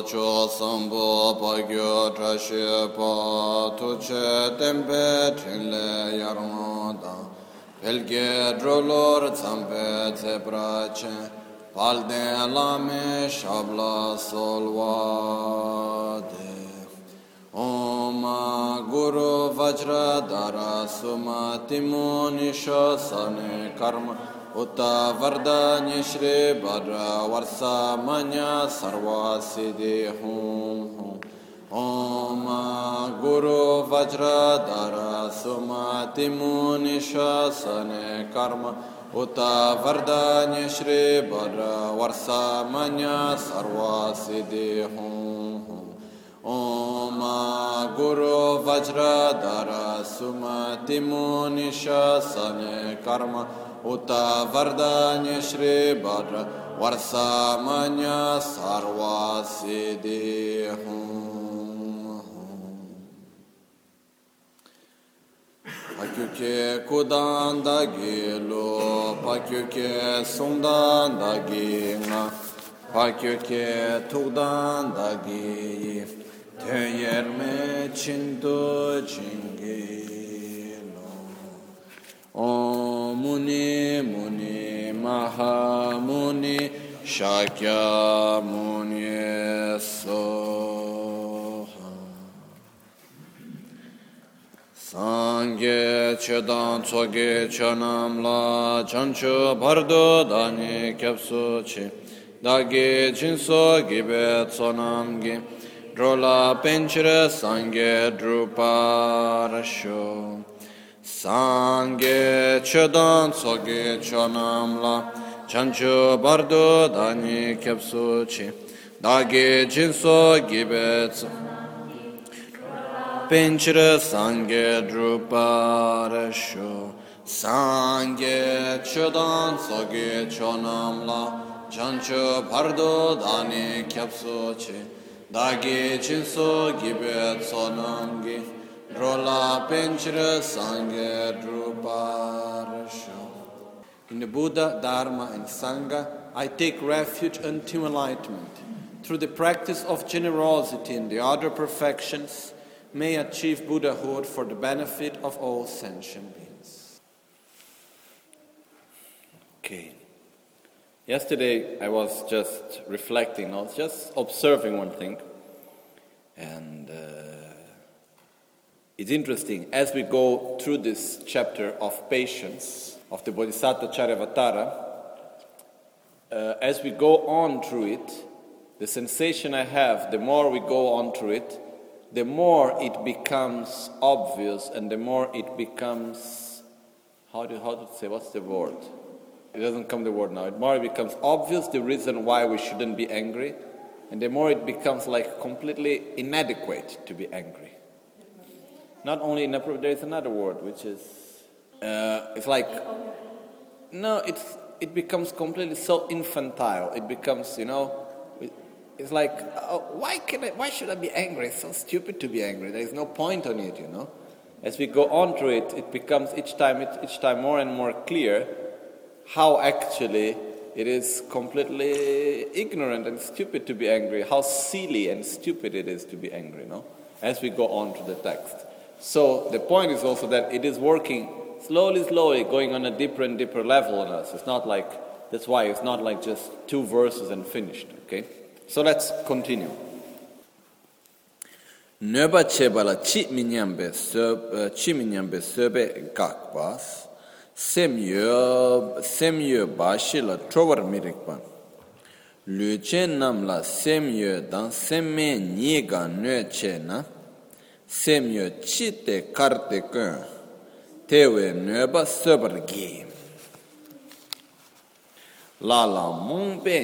cho sambo pagyo trashe pa tuche tempe trinle yarmada pelge drolor zampe zebrace palde lame shabla solvade Om Guru Vajra Dara Sumati Munisha Sane Karma Uta Vardanya Shri Bhadra Varsa Manya Sarva Siddhi Hum Om Guru Vajra Dara Sumati Munisha Sane Karma Uta Vardanya Shri Bhadra Varsa Manya Sarva Siddhi Hum Om Guru Vajra Dara Sumati Munisha Sane Karma Uta Vardanya Shri Bhadra Varsa Manya Sarva Siddhi Hum Pakyuke Kudanda Gilo Pakyuke Sundanda Ginga Pakyuke Tugdanda Gi Teyerme Chinto Chingilo Om Muni Muni Maha Muni Shakya Muni Soha Sangye Chedan Tsoge Chanam La Chancho Bardo Dani Kyapso Chi Dagi Jinso Gibe Tsonam Gi Drola Penchire Sangye Druparasho Sangye Chedan Tsoge Chonam La Chancho Bardo Dani Kyapso Chi Dagi Jinso Gibe Penchire Sangye Druparasho Sangye Chedan Tsoge Chonam La Chancho Bardo Dani Kyapso Chi Dagi Chinso Gibet Sonamgi Drola Penchira Sangye Druparasho. In the Buddha, Dharma and Sangha, I take refuge until enlightenment. Through the practice of generosity and the other perfections, may achieve Buddhahood for the benefit of all sentient beings. Okay. Yesterday, I was just reflecting, I was just observing one thing, and it's interesting, as we go through this chapter of patience, of the Bodhisattva Charyavatara, as we go on through it, the sensation I have, the more we go on through it, the more it becomes obvious, and the more it becomes, how to say, what's the word? It doesn't come the word now. The more it becomes obvious the reason why we shouldn't be angry, and the more it becomes like completely inadequate to be angry. Not only inappropriate, there is another word which is, it's like, no, it becomes completely so infantile. It becomes, it's like, why should I be angry? It's so stupid to be angry. There is no point on it, As we go on through it, it becomes each time more and more clear how actually it is completely ignorant and stupid to be angry, how silly and stupid it is to be angry, as we go on to the text. So the point is also that it is working slowly, going on a deeper and deeper level on us. It's not like, that's why it's not like just 2 verses and finished, okay? So let's continue. Nöba chebala chi minyambe söbe gakbas. Semyo bashi la trovar mirikpan. Luche nam la semyo dan semme niga nöche na. Semyo chite karte kun. Tewe nöba söbargi. Lala mungbe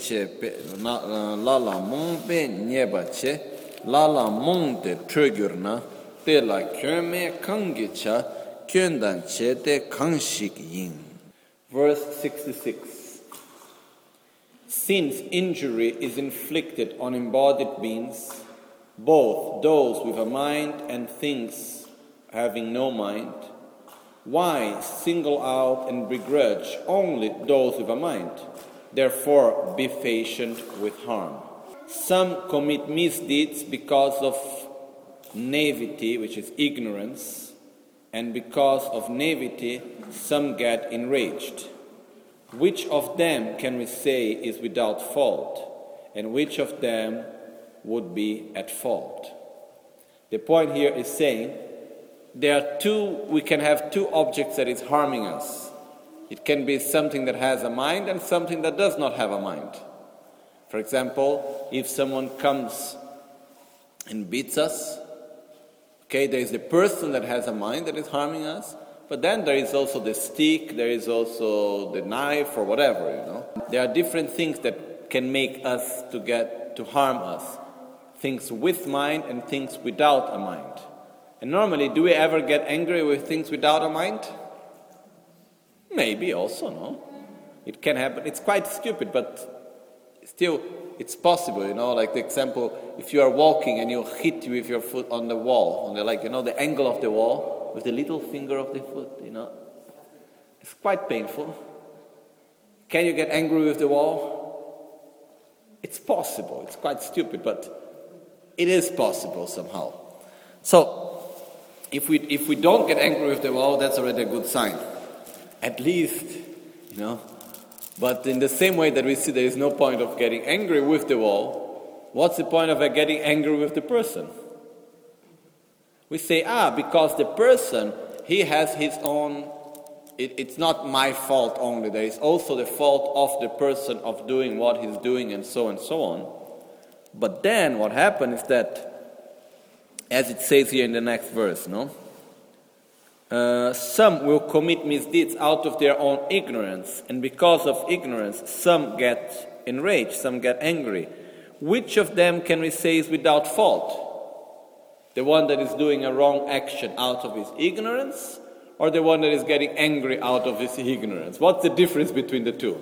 nyeba che. Lala mungde trögurna. Tela köme kangicha. Verse 66. Since injury is inflicted on embodied beings, both those with a mind and things having no mind, why single out and begrudge only those with a mind? Therefore, be patient with harm. Some commit misdeeds because of naivety, which is ignorance, and because of naivety, some get enraged. Which of them can we say is without fault, and which of them would be at fault? The point here is saying we can have two objects that is harming us. It can be something that has a mind and something that does not have a mind. For example, if someone comes and beats us, there is the person that has a mind that is harming us, but then there is also the stick, there is also the knife or whatever, There are different things that can make us to harm us. Things with mind and things without a mind. And normally, do we ever get angry with things without a mind? Maybe also, no? It can happen. It's quite stupid, but still, it's possible, like the example, if you are walking and you hit with your foot on the wall, the angle of the wall, with the little finger of the foot, It's quite painful. Can you get angry with the wall? It's possible. It's quite stupid, but it is possible somehow. So, if we don't get angry with the wall, that's already a good sign. At least, But in the same way that we see there is no point of getting angry with the wall, what's the point of getting angry with the person? We say, because the person, he has his own, it's not my fault only, there is also the fault of the person of doing what he's doing and so on. But then what happens is that, as it says here in the next verse, some will commit misdeeds out of their own ignorance, and because of ignorance, some get enraged, some get angry. Which of them can we say is without fault? The one that is doing a wrong action out of his ignorance, or the one that is getting angry out of his ignorance? What's the difference between the two?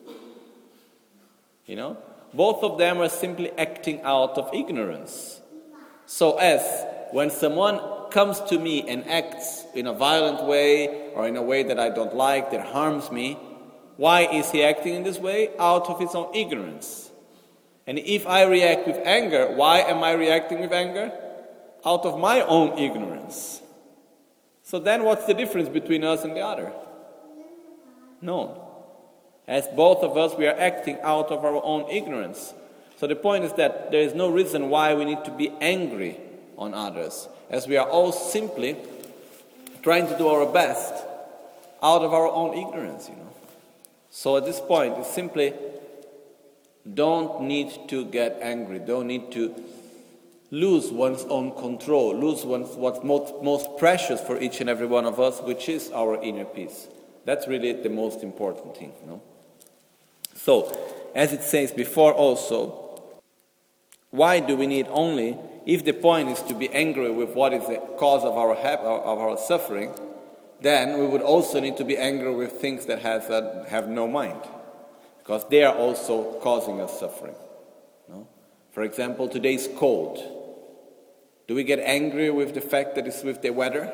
Both of them are simply acting out of ignorance. So as when someone comes to me and acts in a violent way or in a way that I don't like, that harms me, why is he acting in this way? Out of his own ignorance. And if I react with anger, why am I reacting with anger? Out of my own ignorance. So then what's the difference between us and the other? None. As both of us, we are acting out of our own ignorance. So the point is that there is no reason why we need to be angry on others, as we are all simply trying to do our best out of our own ignorance, So at this point, it's simply don't need to get angry, don't need to lose one's own control, lose what's most precious for each and every one of us, which is our inner peace. That's really the most important thing, So, as it says before also, why do we need only, if the point is to be angry with what is the cause of our suffering, then we would also need to be angry with things that have no mind, because they are also causing us suffering. For example, today's cold. Do we get angry with the fact that it's with the weather?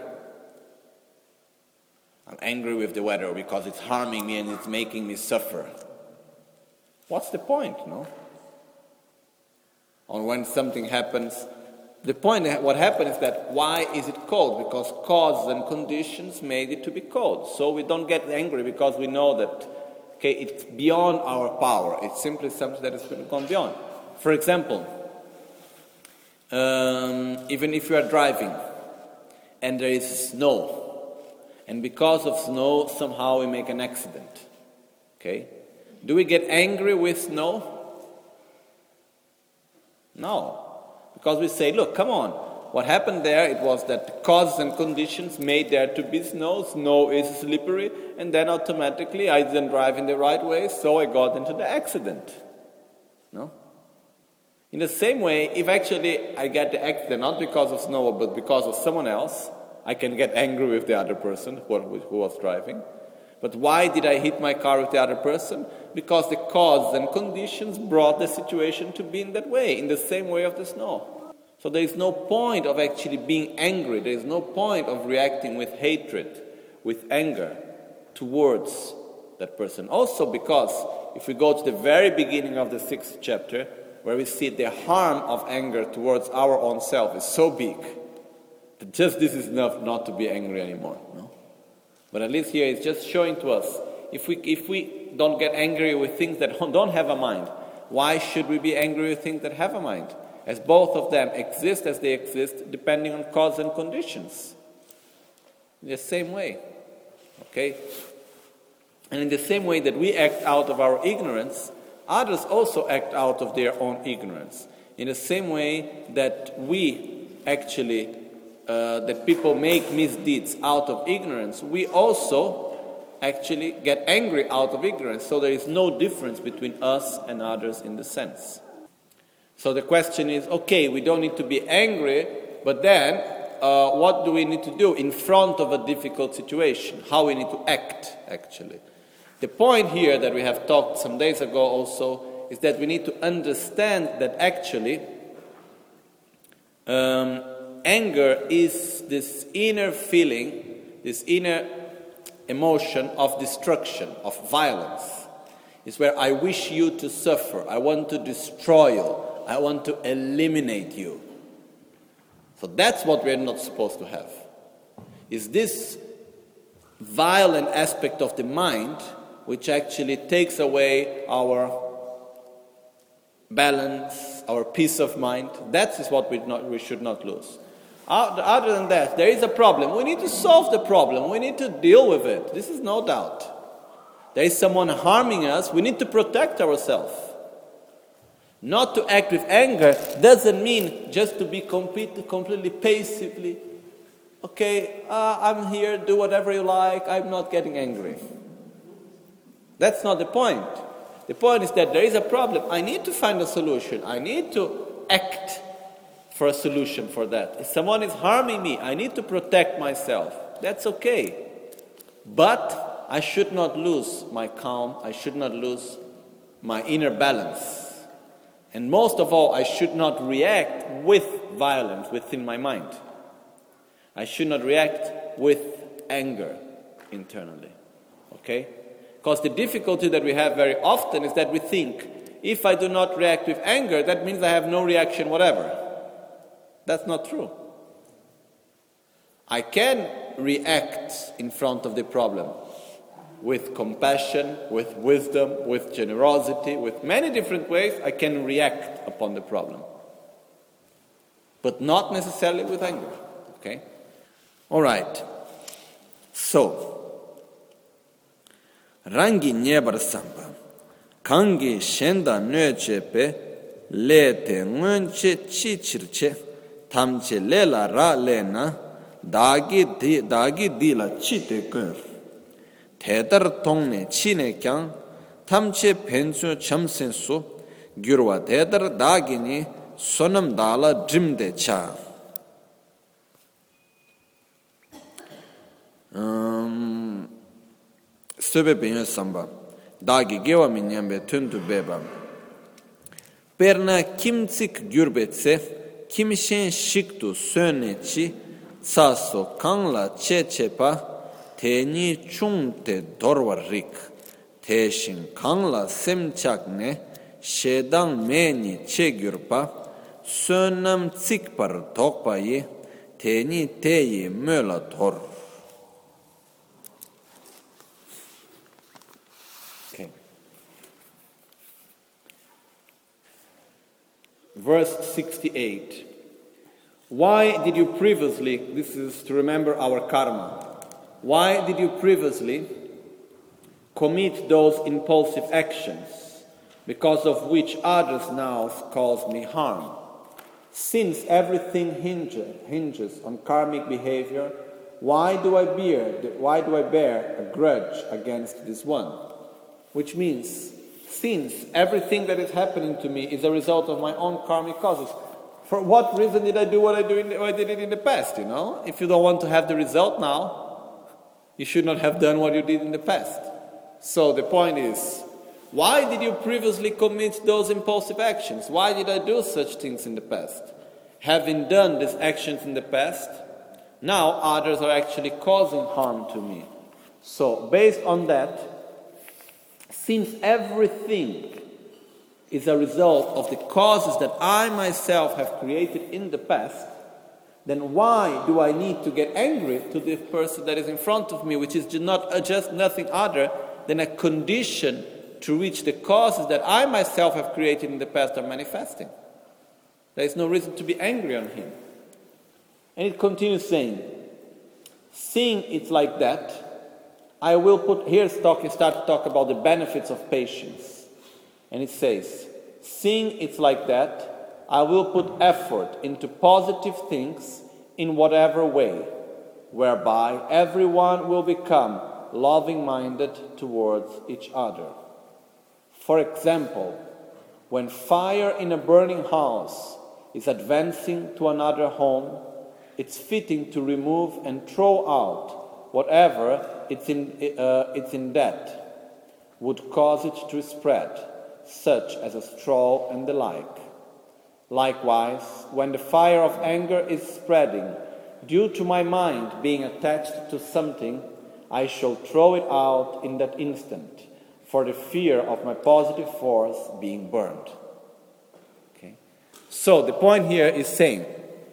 I'm angry with the weather because it's harming me and it's making me suffer. What's the point, Or when something happens, the point, what happened is that why is it cold? Because causes and conditions made it to be cold. So we don't get angry because we know that, it's beyond our power. It's simply something that has gone beyond. For example, even if you are driving and there is snow, and because of snow, somehow we make an accident. Do we get angry with snow? No. Because we say, look, come on. What happened there, it was that the causes and conditions made there to be snow. Snow is slippery, and then automatically I didn't drive in the right way, so I got into the accident. In the same way, if actually I get the accident not because of snow, but because of someone else, I can get angry with the other person who was driving. But why did I hit my car with the other person? Because the causes and conditions brought the situation to be in that way, in the same way of the snow. So there is no point of actually being angry. There is no point of reacting with hatred, with anger towards that person. Also because, if we go to the very beginning of the 6th chapter, where we see the harm of anger towards our own self is so big that just this is enough not to be angry anymore. No? But at least here it's just showing to us, if we don't get angry with things that don't have a mind, why should we be angry with things that have a mind? As both of them exist as they exist, depending on cause and conditions. In the same way. Okay? And in the same way that we act out of our ignorance, others also act out of their own ignorance. In the same way that we actually, that people make misdeeds out of ignorance, we also actually get angry out of ignorance. So there is no difference between us and others in the sense. So the question is, okay, we don't need to be angry, but then what do we need to do in front of a difficult situation? How we need to act, actually. The point here that we have talked some days ago also is that we need to understand that actually anger is this inner feeling, this inner emotion of destruction, of violence. It's where I wish you to suffer, I want to destroy you, I want to eliminate you. So that's what we're not supposed to have. Is this violent aspect of the mind which actually takes away our balance, our peace of mind. That is what we should not lose. Other than that, there is a problem. We need to solve the problem. We need to deal with it. This is no doubt. There is someone harming us. We need to protect ourselves. Not to act with anger doesn't mean just to be completely passively, okay, I'm here, do whatever you like, I'm not getting angry. That's not the point. The point is that there is a problem. I need to find a solution. I need to act for a solution for that. If someone is harming me, I need to protect myself. That's okay. But I should not lose my calm. I should not lose my inner balance. And most of all, I should not react with violence within my mind. I should not react with anger internally. Okay? Because the difficulty that we have very often is that we think, if I do not react with anger, that means I have no reaction whatever. That's not true. I can react in front of the problem with compassion, with wisdom, with generosity, with many different ways. I can react upon the problem. But not necessarily with anger. Okay? All right. So, rangi nyebar samba, kangi shenda nöchepe, lete ngonche chichirche, tamche lela ra lena, dagi dila chite gur. Tedar tongne chine kyang, tamche pensu chamsensu, gyurwa tedar dagini sonam dala jimde cha. Söbe penyo samba, dagi gewa minyambe tuntu beba. Perna kimtsik gyurbetse, kimshen shiktu sönechi, saso kangla chechepa, teni chungte dorwa rik, teshin kangla semchakne, shedang meni che gyurpa, sönam tsikpar tokpayi, teni teyi möla dor. Verse 68. Why did you previously, this is to remember our karma, why did you previously commit those impulsive actions, because of which others now cause me harm? Since everything hinges on karmic behavior, why do I bear a grudge against this one? Which means, since everything that is happening to me is a result of my own karmic causes, for what reason did I do what I did it in the past, you know? If you don't want to have the result now, you should not have done what you did in the past. So the point is, why did you previously commit those impulsive actions? Why did I do such things in the past? Having done these actions in the past, now others are actually causing harm to me. So based on that, since everything is a result of the causes that I myself have created in the past, then why do I need to get angry to the person that is in front of me, which is just nothing other than a condition to which the causes that I myself have created in the past are manifesting? There is no reason to be angry on him. And it continues saying, seeing it like that, I will put, here start to talk about the benefits of patience. And it says, seeing it's like that, I will put effort into positive things in whatever way, whereby everyone will become loving-minded towards each other. For example, when fire in a burning house is advancing to another home, it's fitting to remove and throw out whatever it's in that would cause it to spread, such as a straw and the like. Likewise, when the fire of anger is spreading, due to my mind being attached to something, I shall throw it out in that instant, for the fear of my positive force being burned. Okay? So the point here is saying,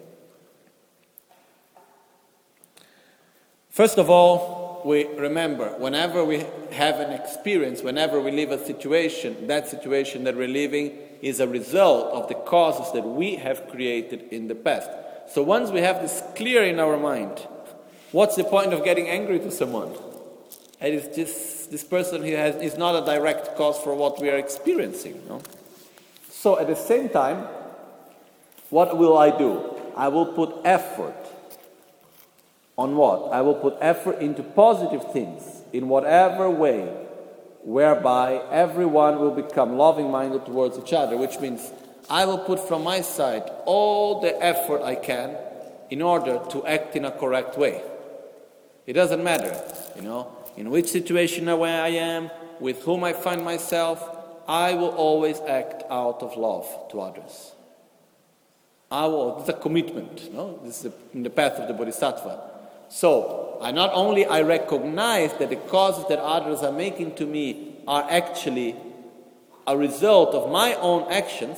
first of all, we remember, whenever we have an experience, whenever we live a situation, that situation that we're living is a result of the causes that we have created in the past. So once we have this clear in our mind, what's the point of getting angry to someone? And it's just, this person is not a direct cause for what we are experiencing. No? So at the same time, what will I do? I will put effort. On what? I will put effort into positive things in whatever way, whereby everyone will become loving-minded towards each other, which means I will put from my side all the effort I can in order to act in a correct way. It doesn't matter, in which situation I am, with whom I find myself, I will always act out of love to others. This is a commitment, This is in the path of the Bodhisattva. So, I recognize that the causes that others are making to me are actually a result of my own actions,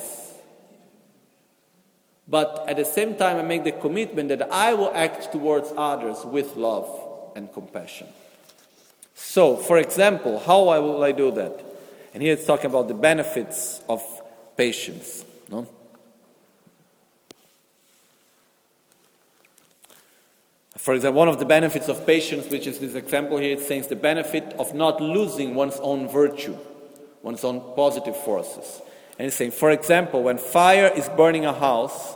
but at the same time I make the commitment that I will act towards others with love and compassion. So, for example, how will I do that? And here it's talking about the benefits of patience. For example, one of the benefits of patience, which is this example here, it says the benefit of not losing one's own virtue, one's own positive forces. And it's saying, for example, when fire is burning a house,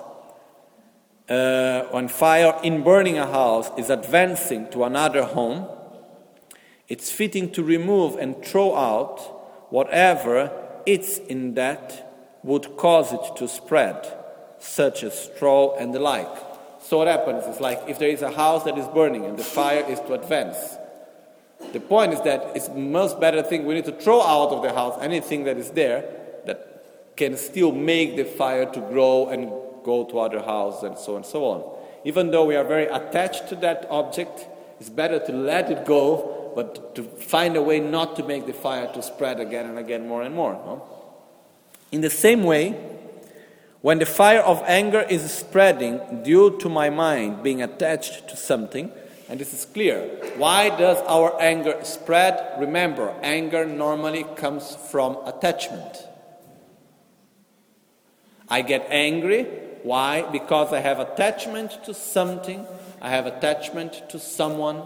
when fire in burning a house is advancing to another home, it's fitting to remove and throw out whatever it's in that would cause it to spread, such as straw and the like. So what happens is, like, if there is a house that is burning and the fire is to advance, the point is that it's the most better thing, we need to throw out of the house anything that is there that can still make the fire to grow and go to other houses and so on. Even though we are very attached to that object, it's better to let it go, but to find a way not to make the fire to spread again and again more and more. In the same way, when the fire of anger is spreading due to my mind being attached to something, and this is clear, why does our anger spread? Remember, anger normally comes from attachment. I get angry, why? Because I have attachment to something, I have attachment to someone.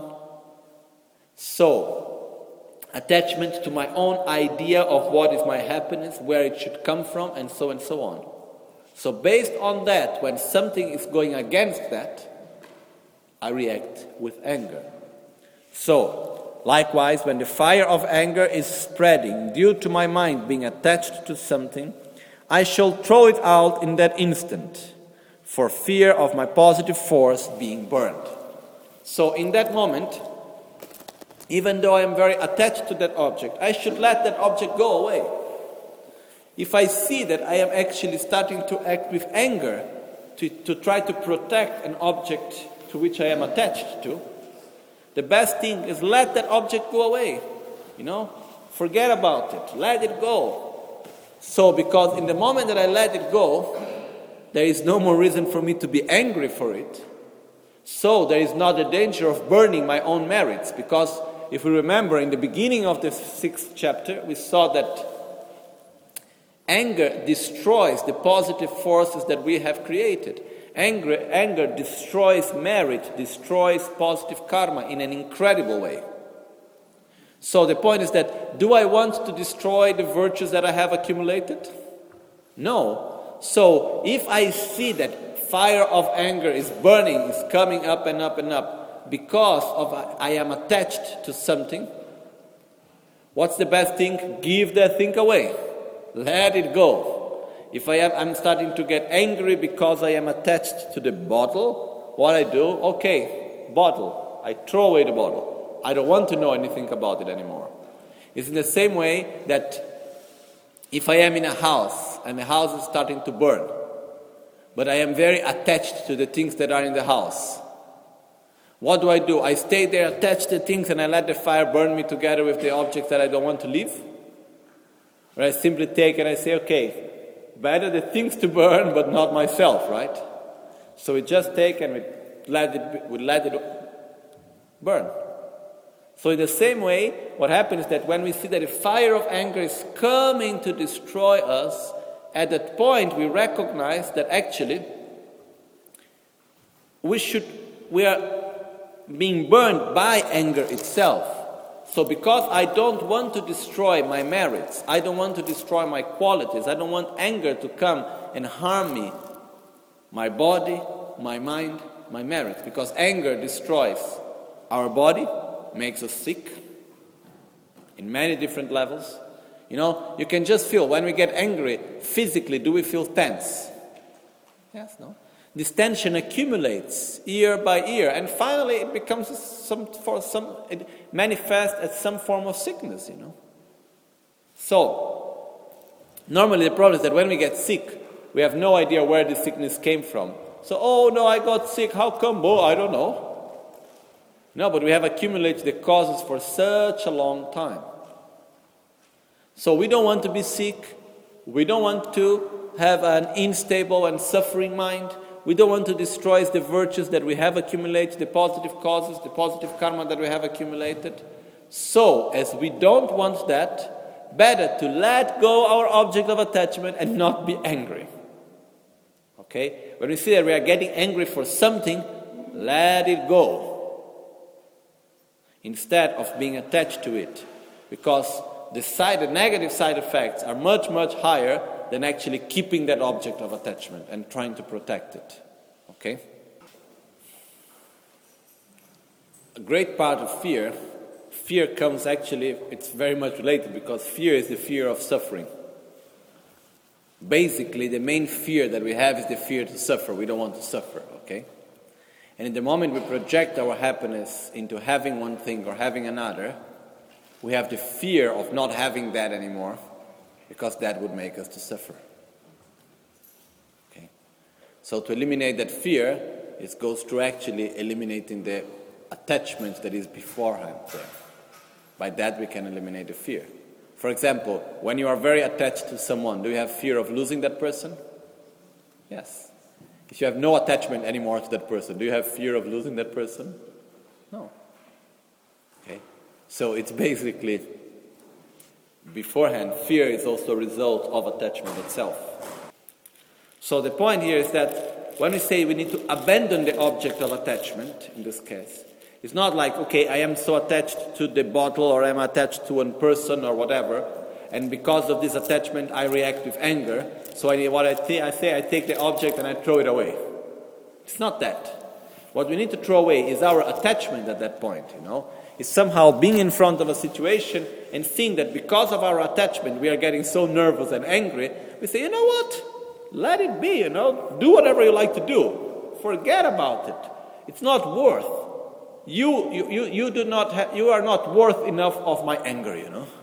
So, attachment to my own idea of what is my happiness, where it should come from, and so on. So based on that, when something is going against that, I react with anger. So, likewise, when the fire of anger is spreading due to my mind being attached to something, I shall throw it out in that instant, for fear of my positive force being burned. So in that moment, even though I am very attached to that object, I should let that object go away. If I see that I am actually starting to act with anger to try to protect an object to which I am attached to, the best thing is let that object go away. Forget about it. Let it go. So because in the moment that I let it go, there is no more reason for me to be angry for it. So there is not the danger of burning my own merits. Because if we remember in the beginning of the 6th chapter, we saw that anger destroys the positive forces that we have created. Anger destroys merit, destroys positive karma in an incredible way. So the point is that, do I want to destroy the virtues that I have accumulated? No. So if I see that fire of anger is burning, is coming up and up and up, because of I am attached to something, what's the best thing? Give that thing away. Let it go. If I'm starting to get angry because I am attached to the bottle, what I do, okay, bottle. I throw away the bottle. I don't want to know anything about it anymore. It's in the same way that if I am in a house and the house is starting to burn, but I am very attached to the things that are in the house, what do? I stay there attached to things and I let the fire burn me together with the objects that I don't want to leave? Or I simply take and I say, okay, better the things to burn, but not myself, right? So we just take and we let it burn. So in the same way, what happens is that when we see that the fire of anger is coming to destroy us, at that point we recognize that actually we are being burned by anger itself. So because I don't want to destroy my merits, I don't want to destroy my qualities, I don't want anger to come and harm me, my body, my mind, my merits, because anger destroys our body, makes us sick in many different levels. You know, you can just feel when we get angry, physically, do we feel tense? Yes, no? This tension accumulates year by year, and finally it becomes it manifests as some form of sickness, you know. So, normally the problem is that when we get sick, we have no idea where the sickness came from. So, oh no, I got sick, how come? Oh, I don't know. No, but we have accumulated the causes for such a long time. So we don't want to be sick, we don't want to have an unstable and suffering mind. We don't want to destroy the virtues that we have accumulated, the positive causes, the positive karma that we have accumulated. So, as we don't want that, better to let go our object of attachment and not be angry. Okay? When we see that we are getting angry for something, let it go. Instead of being attached to it. Because the negative side effects are much, much higher than actually keeping that object of attachment and trying to protect it. Okay? A great part of fear comes actually, it's very much related because fear is the fear of suffering. Basically, the main fear that we have is the fear to suffer. We don't want to suffer, okay? And in the moment we project our happiness into having one thing or having another, we have the fear of not having that anymore, because that would make us to suffer. Okay? So to eliminate that fear, it goes through actually eliminating the attachment that is beforehand there. By that we can eliminate the fear. For example, when you are very attached to someone, do you have fear of losing that person? Yes. If you have no attachment anymore to that person, do you have fear of losing that person? No. Okay? So it's basically beforehand, fear is also a result of attachment itself. So the point here is that when we say we need to abandon the object of attachment, in this case, it's not like, okay, I am so attached to the bottle or I'm attached to one person or whatever, and because of this attachment I react with anger, so I take the object and I throw it away. It's not that. What we need to throw away is our attachment at that point, you know. Is somehow being in front of a situation and seeing that because of our attachment we are getting so nervous and angry, we say, you know what? Let it be, you know. Do whatever you like to do. Forget about it. It's not worth. You are not worth enough of my anger, you know.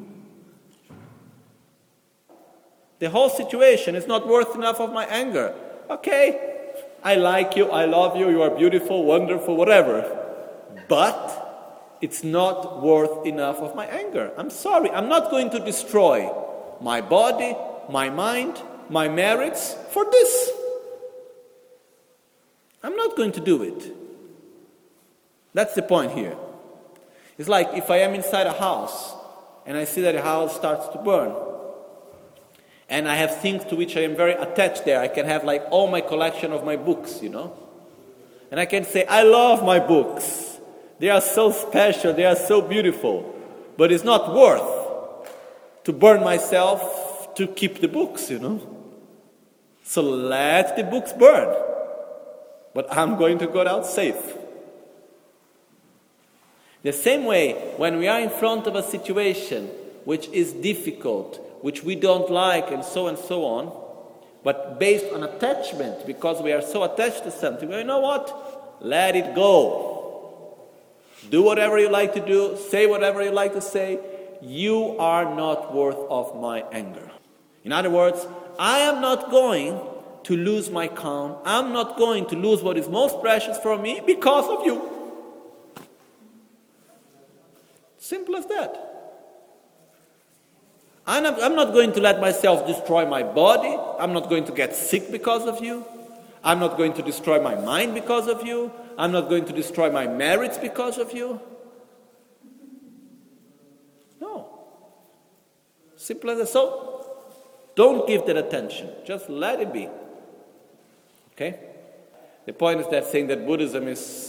The whole situation is not worth enough of my anger. Okay, I like you, I love you, you are beautiful, wonderful, whatever. But it's not worth enough of my anger. I'm sorry. I'm not going to destroy my body, my mind, my merits for this. I'm not going to do it. That's the point here. It's like if I am inside a house and I see that the house starts to burn, and I have things to which I am very attached there. I can have like all my collection of my books, And I can say, I love my books. They are so special, they are so beautiful. But it's not worth to burn myself to keep the books, So let the books burn. But I'm going to go out safe. The same way, when we are in front of a situation which is difficult, which we don't like, and so on, but based on attachment, because we are so attached to something, you know what? Let it go. Do whatever you like to do, say whatever you like to say. You are not worth of my anger. In other words, I am not going to lose my calm. I'm not going to lose what is most precious for me because of you. Simple as that. I'm not going to let myself destroy my body. I'm not going to get sick because of you. I'm not going to destroy my mind because of you. I'm not going to destroy my merits because of you. No. Simple as that. So, don't give that attention. Just let it be. Okay? The point is that saying that Buddhism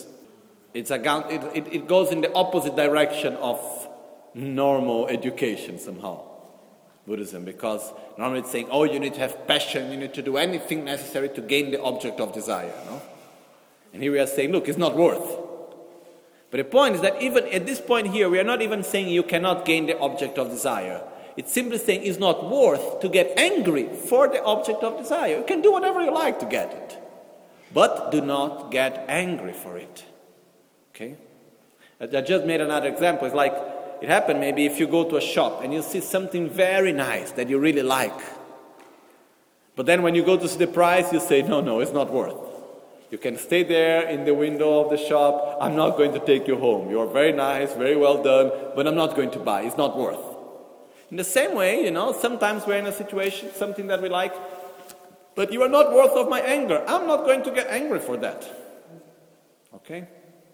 it goes in the opposite direction of normal education somehow. Buddhism, because normally it's saying, you need to have passion, you need to do anything necessary to gain the object of desire, And here we are saying, look, it's not worth. But the point is that even at this point here, we are not even saying you cannot gain the object of desire. It's simply saying it's not worth to get angry for the object of desire. You can do whatever you like to get it. But do not get angry for it. Okay? I just made another example. It's like, it happened maybe if you go to a shop and you see something very nice that you really like. But then when you go to see the price, you say, no, it's not worth. You can stay there in the window of the shop. I'm not going to take you home. You're very nice, very well done, but I'm not going to buy. It's not worth. In the same way, sometimes we're in a situation, something that we like, but you are not worth of my anger. I'm not going to get angry for that. Okay?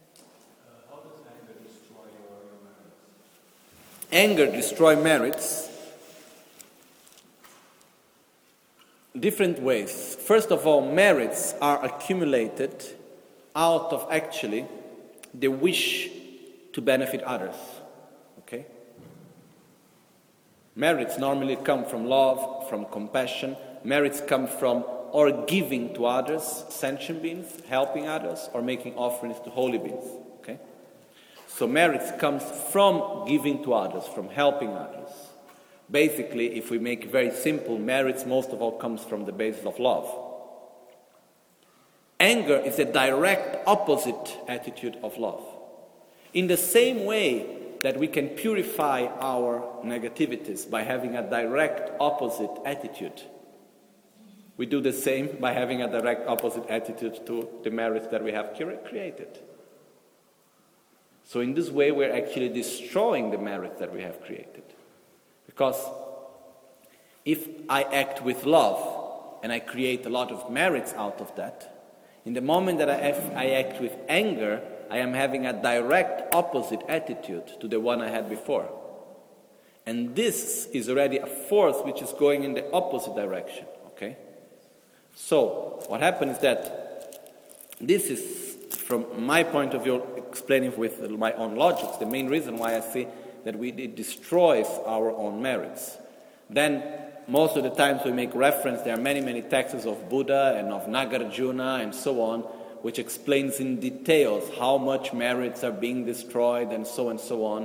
Anger destroy merits different ways. First of all, merits are accumulated out of actually the wish to benefit others. Okay? Merits normally come from love, from compassion. Merits come from or giving to others, sentient beings, helping others, or making offerings to holy beings. Okay? So merits comes from giving to others, from helping others. Basically, if we make it very simple, merits most of all comes from the basis of love. Anger is a direct opposite attitude of love. In the same way that we can purify our negativities by having a direct opposite attitude, we do the same by having a direct opposite attitude to the merits that we have created. So in this way, we're actually destroying the merits that we have created. Because if I act with love and I create a lot of merits out of that, in the moment that I act with anger, I am having a direct opposite attitude to the one I had before. And this is already a force which is going in the opposite direction. Okay? So, what happens is that this is, from my point of view, explaining with my own logic, the main reason why I say that it destroys our own merits. Then, most of the times we make reference, there are many, many texts of Buddha and of Nagarjuna and so on, which explains in details how much merits are being destroyed and so on,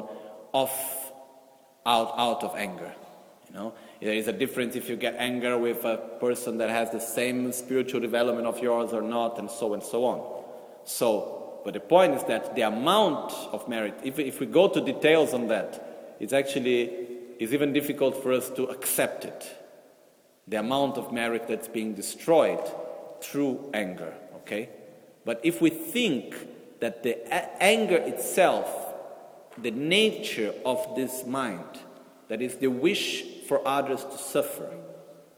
out of anger. There is a difference if you get anger with a person that has the same spiritual development of yours or not, and so on. But the point is that the amount of merit, if we go to details on that, it's even difficult for us to accept it. The amount of merit that's being destroyed through anger, okay? But if we think that the anger itself, the nature of this mind, that is the wish for others to suffer,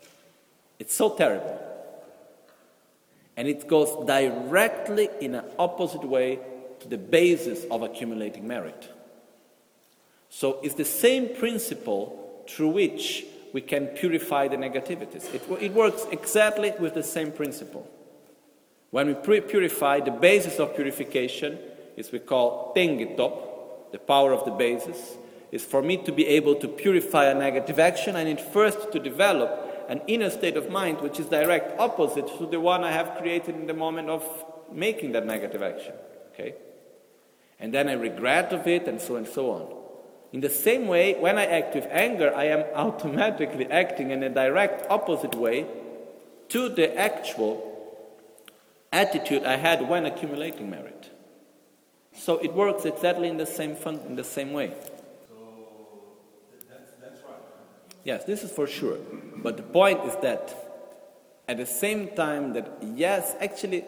It's so terrible. And it goes directly in an opposite way to the basis of accumulating merit. So it's the same principle through which we can purify the negativities. It works exactly with the same principle. When we purify, the basis of purification is we call tengitop, the power of the basis, is for me to be able to purify a negative action. I need first to develop an inner state of mind which is direct opposite to the one I have created in the moment of making that negative action. Okay? And then I regret of it, and so on. In the same way, when I act with anger, I am automatically acting in a direct opposite way to the actual attitude I had when accumulating merit. So it works exactly in the same way. That's right. Yes, this is for sure. But the point is that at the same time that, yes, actually,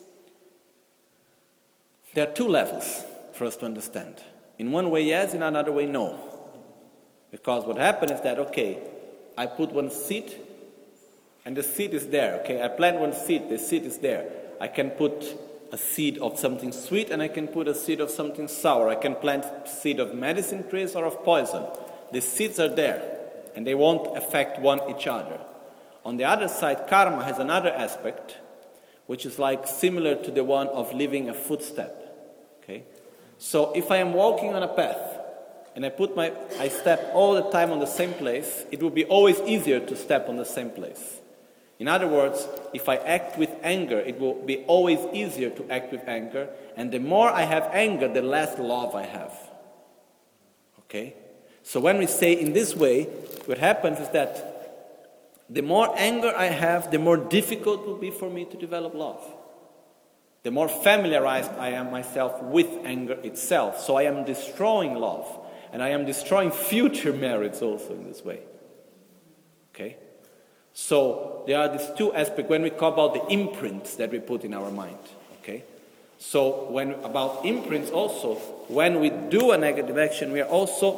there are two levels for us to understand. In one way, yes, in another way, no. Because what happened is that, okay, I put one seed, and the seed is there. Okay, I plant one seed, the seed is there. I can put a seed of something sweet, and I can put a seed of something sour. I can plant seed of medicine trees or of poison. The seeds are there, and they won't affect each other. On the other side, karma has another aspect, which is like similar to the one of leaving a footstep. Okay? So if I am walking on a path, and I step all the time on the same place, it will be always easier to step on the same place. In other words, if I act with anger, it will be always easier to act with anger, and the more I have anger, the less love I have. Okay? So when we say in this way, what happens is that the more anger I have, the more difficult it will be for me to develop love. The more familiarized I am myself with anger itself. So I am destroying love. And I am destroying future merits also in this way. Okay? So there are these two aspects when we talk about the imprints that we put in our mind. Okay? So about imprints also, when we do a negative action, we are also,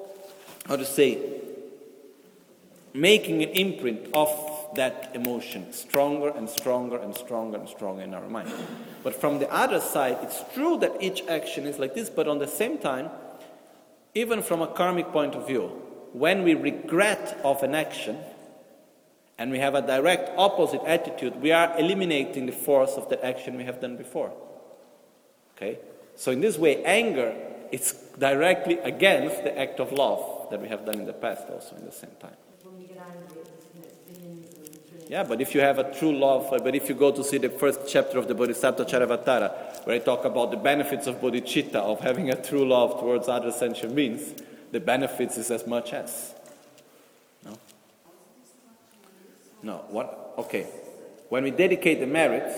making an imprint of that emotion stronger and stronger and stronger and stronger in our mind. But from the other side, it's true that each action is like this, but on the same time, even from a karmic point of view, when we regret of an action and we have a direct opposite attitude, we are eliminating the force of the action we have done before. Okay? So in this way, anger is directly against the act of love that we have done in the past also in the same time. Yeah, but if you have a true love, but if you go to see the first chapter of the Bodhisattva Charavatara, where I talk about the benefits of bodhicitta, of having a true love towards other sentient beings, the benefits is as much as. No? No, what? Okay. When we dedicate the merits,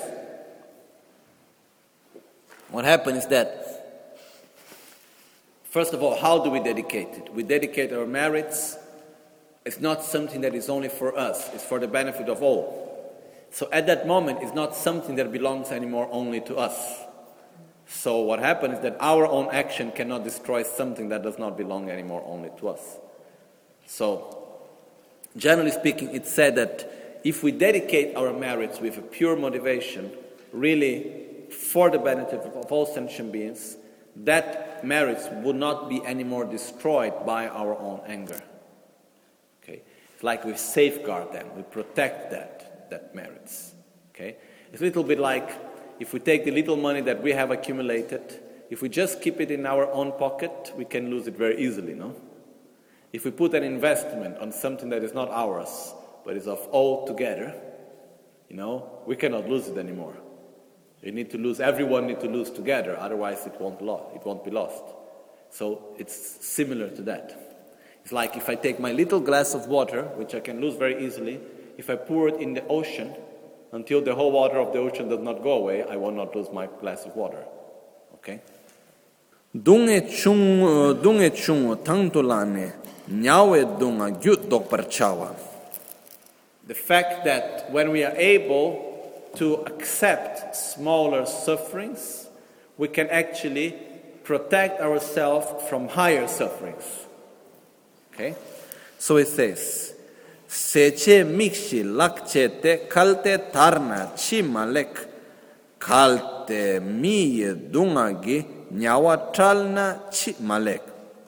what happens is that, first of all, how do we dedicate it? We dedicate our merits. It's not something that is only for us. It's for the benefit of all. So at that moment, it's not something that belongs anymore only to us. So what happens is that our own action cannot destroy something that does not belong anymore only to us. So, generally speaking, it's said that if we dedicate our merits with a pure motivation, really for the benefit of all sentient beings, that merits would not be anymore destroyed by our own anger. It's like we safeguard them, we protect that merits. Okay? It's a little bit like if we take the little money that we have accumulated, if we just keep it in our own pocket, we can lose it very easily, no? If we put an investment on something that is not ours, but is of all together, we cannot lose it anymore. Everyone needs to lose together, otherwise it won't be lost. So it's similar to that. It's like if I take my little glass of water, which I can lose very easily, if I pour it in the ocean, until the whole water of the ocean does not go away, I will not lose my glass of water. Okay? Dunge chung tangtolane nyawe dunga gyut dok parchawa. The fact that when we are able to accept smaller sufferings, we can actually protect ourselves from higher sufferings. Okay? So it says, seche mikshi lakche te kalte tarna chi malek kalte miye dunga gi nyawa tralna chi malek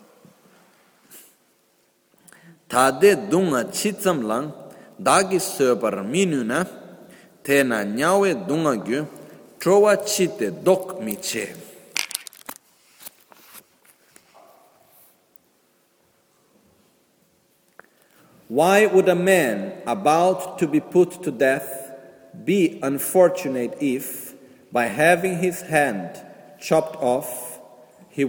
tade dunga chi tsamlang dagi söpar minuna tena nyawe dunga gyu trowa chi te dok mi che. Why would a man about to be put to death be unfortunate if, by having his hand chopped off, he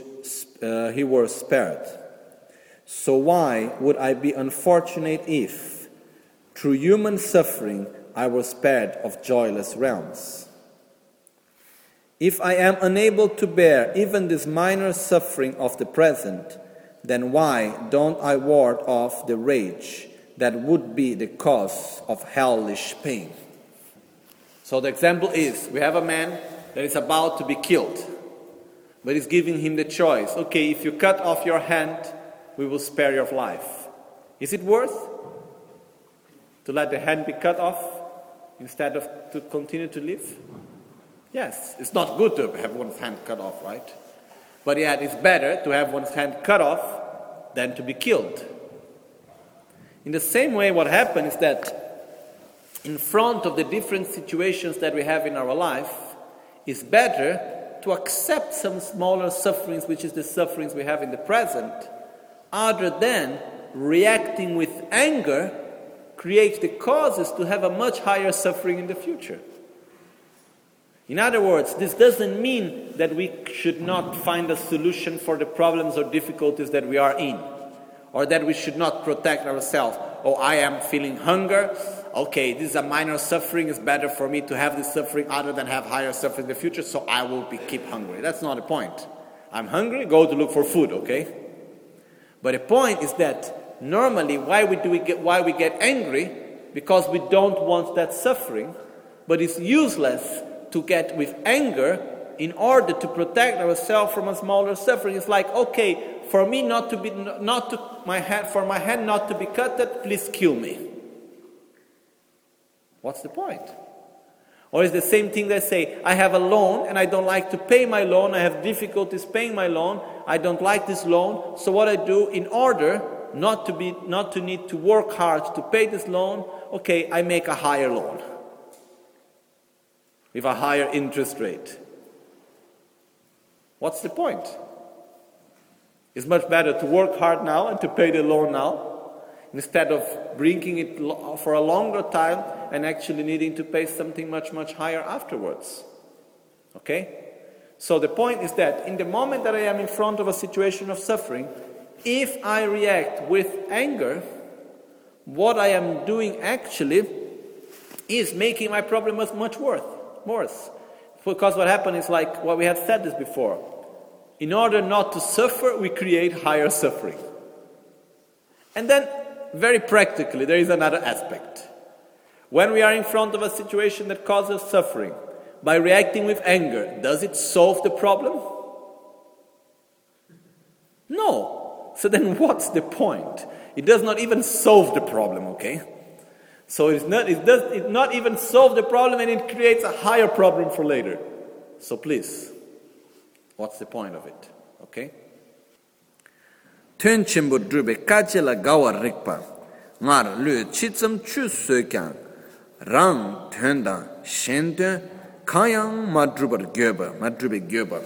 were spared? So why would I be unfortunate if, through human suffering, I was spared of joyless realms? If I am unable to bear even this minor suffering of the present, then why don't I ward off the rage that would be the cause of hellish pain? So the example is, we have a man that is about to be killed, but he's giving him the choice. Okay, if you cut off your hand, we will spare your life. Is it worth to let the hand be cut off instead of to continue to live? Yes, it's not good to have one's hand cut off, right? But yet it's better to have one's hand cut off than to be killed. In the same way, what happens is that in front of the different situations that we have in our life, it's better to accept some smaller sufferings, which is the sufferings we have in the present, other than reacting with anger creates the causes to have a much higher suffering in the future. In other words, this doesn't mean that we should not find a solution for the problems or difficulties that we are in, or that we should not protect ourselves. Oh, I am feeling hunger. Okay, this is a minor suffering. It's better for me to have this suffering other than have higher suffering in the future, so I will keep hungry. That's not the point. I'm hungry, go to look for food, okay? But the point is that normally why we get angry? Because we don't want that suffering, but it's useless to get with anger in order to protect ourselves from a smaller suffering. It's like, okay, for me my hand not to be cut, please kill me. What's the point? Or it's the same thing they say, I have a loan and I don't like to pay my loan, I have difficulties paying my loan, I don't like this loan, so what I do in order not to need to work hard to pay this loan, okay, I make a higher loan with a higher interest rate. What's the point? It's much better to work hard now and to pay the loan now, instead of bringing it for a longer time and actually needing to pay something much, much higher afterwards. Okay? So the point is that in the moment that I am in front of a situation of suffering, if I react with anger, what I am doing actually is making my problem much worse. Because what happens is like what we have said this before. In order not to suffer, we create higher suffering. And then, very practically, there is another aspect. When we are in front of a situation that causes suffering, by reacting with anger, does it solve the problem? No. So then what's the point? It does not even solve the problem, okay? So it does not even solve the problem, and it creates a higher problem for later. So please, what's the point of it? Okay? Tön chimbo drube kachela gawa rikpa ngar lu chitsam chu sökyang rang tönda shente kayang madrube gyoba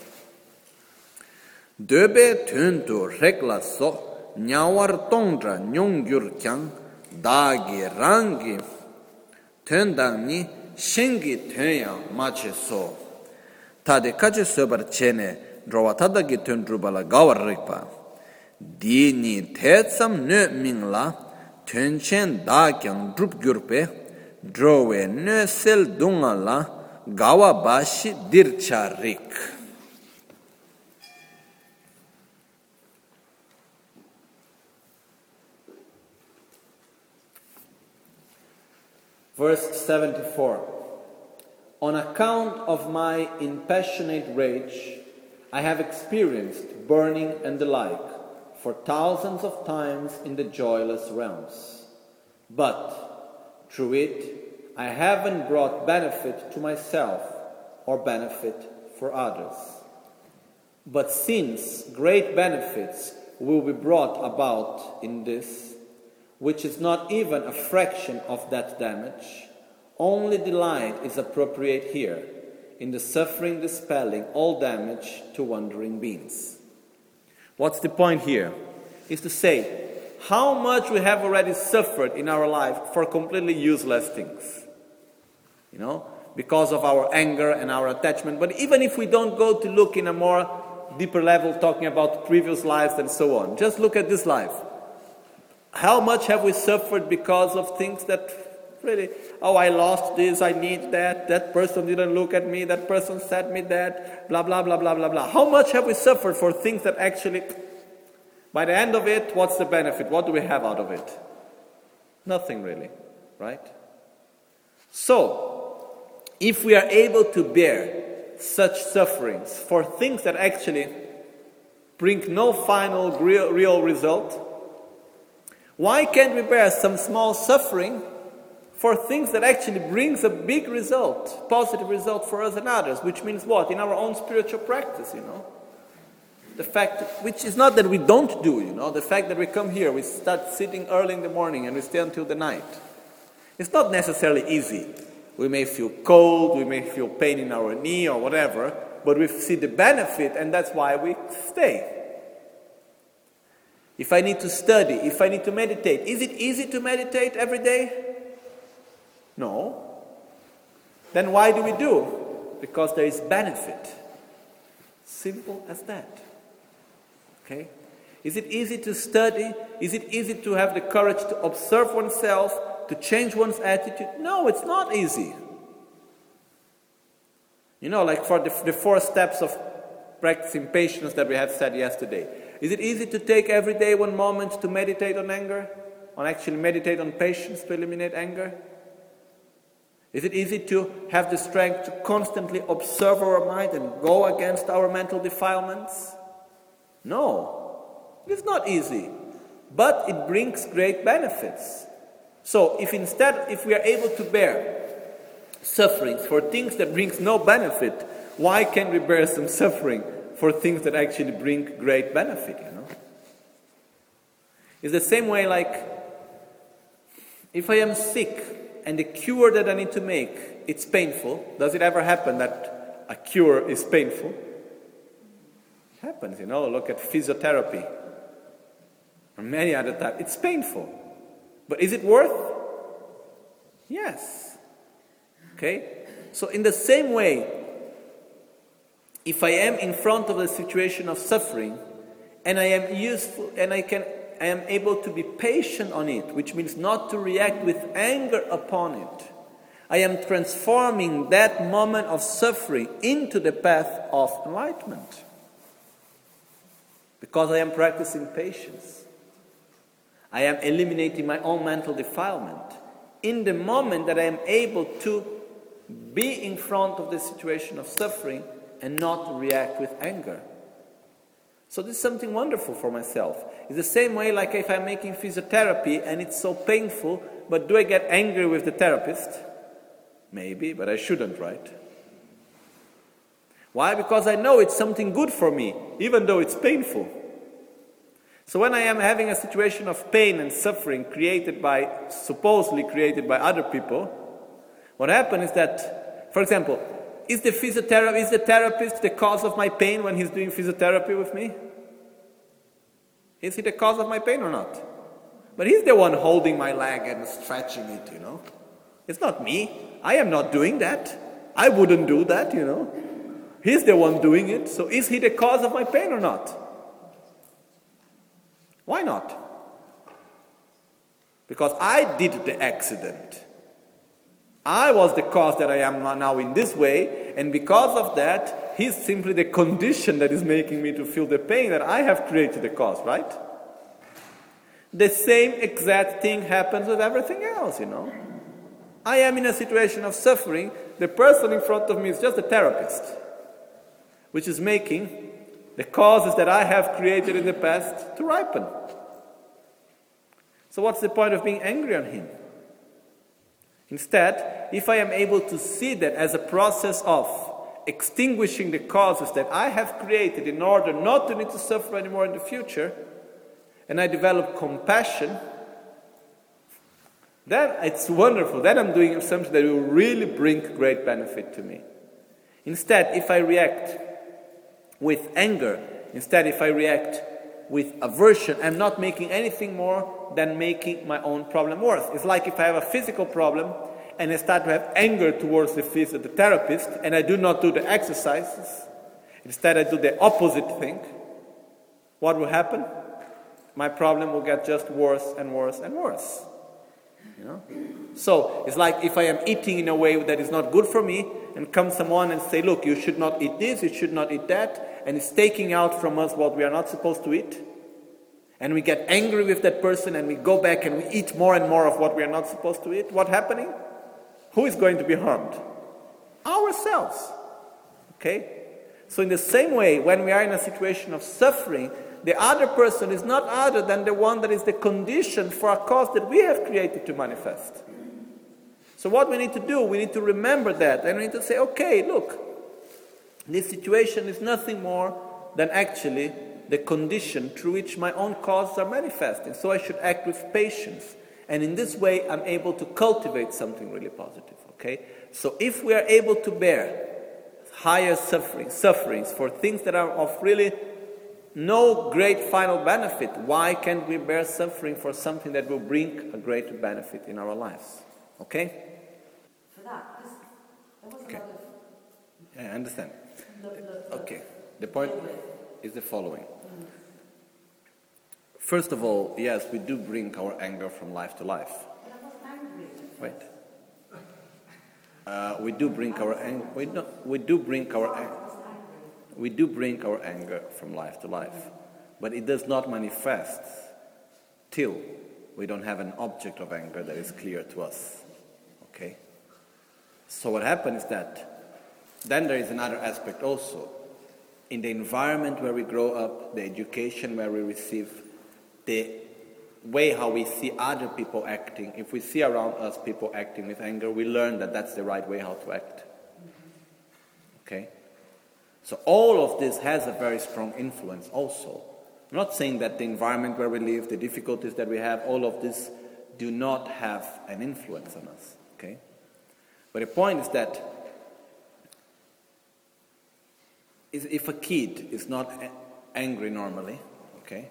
döbe tönto rekla so nyawar tongdra nyongyur kyang dagi rangi töndang ni shengi tönyang mache so tade kache söbar chene drowa tadagi töndrubala gawa rikpa Dini tetsam nö mingla tönchen da kyang drup gyurpe drowe nö sel dunga la gawa bashi dircha rik. Verse 74. On account of my impassionate rage, I have experienced burning and the like, for thousands of times in the joyless realms. But through it, I haven't brought benefit to myself or benefit for others. But since great benefits will be brought about in this, which is not even a fraction of that damage, only delight is appropriate here, in the suffering dispelling all damage to wandering beings. What's the point here? Is to say, how much we have already suffered in our life for completely useless things. Because of our anger and our attachment. But even if we don't go to look in a more deeper level, talking about previous lives and so on, just look at this life. How much have we suffered because of things that really, I lost this, I need that person didn't look at me, that person said me that, blah, blah, blah, blah, blah, blah. How much have we suffered for things that actually, by the end of it, what's the benefit? What do we have out of it? Nothing really, right? So, if we are able to bear such sufferings for things that actually bring no final real result, why can't we bear some small suffering for things that actually brings a big result, positive result for us and others, which means what? In our own spiritual practice, The fact, which is not that we don't do, the fact that we come here, we start sitting early in the morning and we stay until the night. It's not necessarily easy. We may feel cold, we may feel pain in our knee or whatever, but we see the benefit and that's why we stay. If I need to study, if I need to meditate, is it easy to meditate every day? No. Then why do we do? Because there is benefit. Simple as that. Okay? Is it easy to study? Is it easy to have the courage to observe oneself, to change one's attitude? No, it's not easy. Like for the 4 steps of practicing patience that we have said yesterday. Is it easy to take every day 1 moment to meditate on anger? On actually meditate on patience to eliminate anger? Is it easy to have the strength to constantly observe our mind and go against our mental defilements? No, it's not easy, but it brings great benefits. So if we are able to bear sufferings for things that brings no benefit, why can't we bear some suffering for things that actually bring great benefit, It's the same way like, if I am sick, and the cure that I need to make, it's painful. Does it ever happen that a cure is painful? It happens, Look at physiotherapy. Or many other types. It's painful. But is it worth? Yes. Okay? So in the same way, if I am in front of a situation of suffering, and I am useful, and I am able to be patient on it, which means not to react with anger upon it. I am transforming that moment of suffering into the path of enlightenment. Because I am practicing patience. I am eliminating my own mental defilement. In the moment that I am able to be in front of the situation of suffering and not react with anger. So this is something wonderful for myself. It's the same way like if I'm making physiotherapy and it's so painful, but do I get angry with the therapist? Maybe, but I shouldn't, right? Why? Because I know it's something good for me, even though it's painful. So when I am having a situation of pain and suffering supposedly created by other people, what happens is that, for example, is the therapist the cause of my pain when he's doing physiotherapy with me? Is he the cause of my pain or not? But he's the one holding my leg and stretching it, It's not me. I am not doing that. I wouldn't do that, He's the one doing it. So is he the cause of my pain or not? Why not? Because I did the accident. I was the cause that I am now in this way, and because of that, he's simply the condition that is making me to feel the pain that I have created the cause, right? The same exact thing happens with everything else, I am in a situation of suffering. The person in front of me is just a therapist, which is making the causes that I have created in the past to ripen. So what's the point of being angry on him? Instead, if I am able to see that as a process of extinguishing the causes that I have created in order not to need to suffer anymore in the future, and I develop compassion, then it's wonderful. Then I'm doing something that will really bring great benefit to me. Instead, if I react with anger, instead if I react with aversion, I'm not making anything more than making my own problem worse. It's like if I have a physical problem and I start to have anger towards the therapist and I do not do the exercises, instead I do the opposite thing, what will happen? My problem will get just worse and worse and worse. You know? So it's like if I am eating in a way that is not good for me, and comes someone and say, look, you should not eat this, you should not eat that, and it's taking out from us what we are not supposed to eat, and we get angry with that person and we go back and we eat more and more of what we are not supposed to eat, what's happening? Who is going to be harmed? Ourselves. Okay? So in the same way, when we are in a situation of suffering, the other person is not other than the one that is the condition for a cause that we have created to manifest. So what we need to do, we need to remember that, and we need to say, okay, look, this situation is nothing more than actually the condition through which my own causes are manifesting. So I should act with patience. And in this way, I'm able to cultivate something really positive, okay? So if we are able to bear higher sufferings for things that are of really no great final benefit, why can't we bear suffering for something that will bring a greater benefit in our lives? Okay? For that, because there was a lot of... Yeah, I understand. Okay. The point is the following. First of all, yes, we do bring our anger from life to life. But I wasn't angry. Wait. We do bring our anger. We do bring our anger from life to life, but it does not manifest till we don't have an object of anger that is clear to us. Okay. So what happens is that then there is another aspect also. In the environment where we grow up, the education where we receive, the way how we see other people acting, if we see around us people acting with anger, we learn that that's the right way how to act. Okay? So all of this has a very strong influence also. I'm not saying that the environment where we live, the difficulties that we have, all of this do not have an influence on us. Okay? But the point is that if a kid is not angry normally, okay,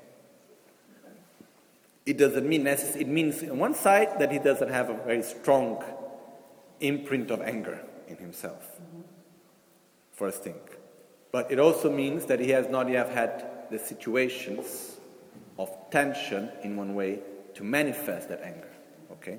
it doesn't mean necessarily, it means on one side that he doesn't have a very strong imprint of anger in himself, first thing. But it also means that he has not yet had the situations of tension in one way to manifest that anger, okay?